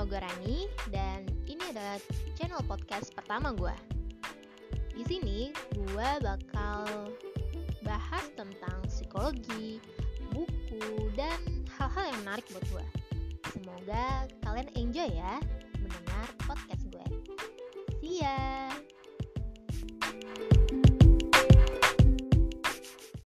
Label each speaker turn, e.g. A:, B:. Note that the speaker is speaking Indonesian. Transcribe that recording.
A: gue Rani dan ini adalah channel podcast pertama gue. Di sini gue bakal bahas tentang psikologi, buku, dan hal-hal yang menarik buat gue. Semoga kalian enjoy ya.